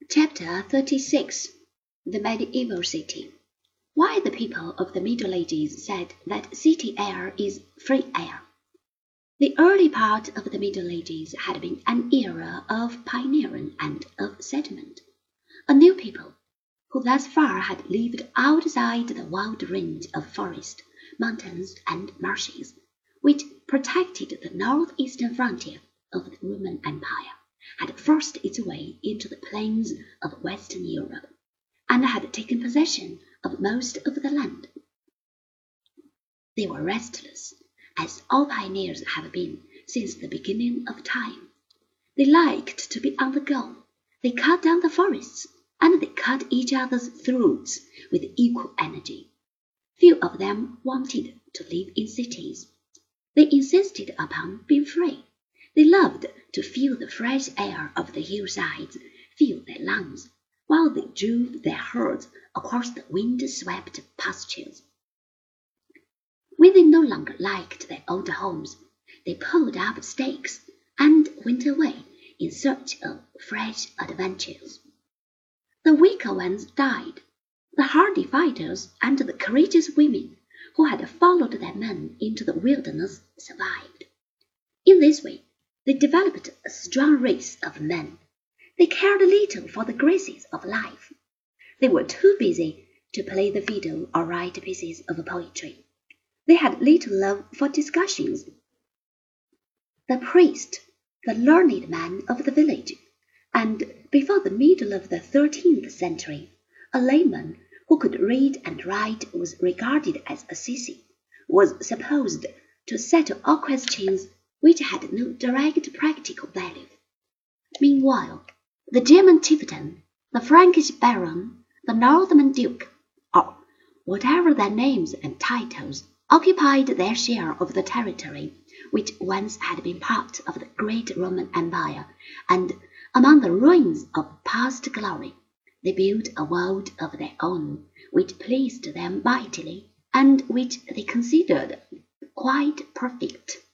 Chapter 36 The Medieval City. Why the people of the Middle Ages said that city air is free air. The early part of the Middle Ages had been an era of pioneering and of settlement. A new people, who thus far had lived outside the wide range of forest, mountains, and marshes, which protected the northeastern frontier of the Roman Empire, had forced its way into the plains of Western Europe, and had taken possession of most of the land. They were restless, as all pioneers have been since the beginning of time. They liked to be on the go. They cut down the forests, and they cut each other's throats with equal energy. Few of them wanted to live in cities. They insisted upon being free. They loved to feel the fresh air of the hillsides fill their lungs, while they drove their herds across the wind-swept pastures. When they no longer liked their old homes, they pulled up stakes and went away in search of fresh adventures. The weaker ones died. The hardy fighters and the courageous women who had followed their men into the wilderness survived. In this way, they developed a strong race of men. They cared little for the graces of life. They were too busy to play the fiddle or write pieces of poetry. They had little love for discussions. The priest, the learned man of the village, and before the middle of the 13th century, a layman who could read and write was regarded as a sissy, was supposed to settle all questions which had no direct practical value. Meanwhile, the German chieftain, the Frankish baron, the Northman duke, or whatever their names and titles, occupied their share of the territory which once had been part of the great Roman Empire, and among the ruins of past glory, they built a world of their own, which pleased them mightily, and which they considered quite perfect.